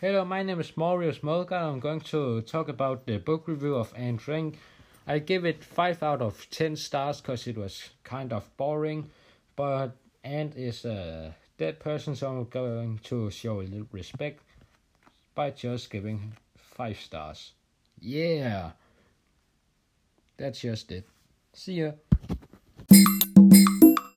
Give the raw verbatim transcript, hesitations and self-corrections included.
Hello, my name is Maurius Molgar. I'm going to talk about the book review of Anne Frank. I give it five out of ten stars because it was kind of boring, but Anne is a dead person, so I'm going to show a little respect by just giving five stars. Yeah, that's just it. See ya.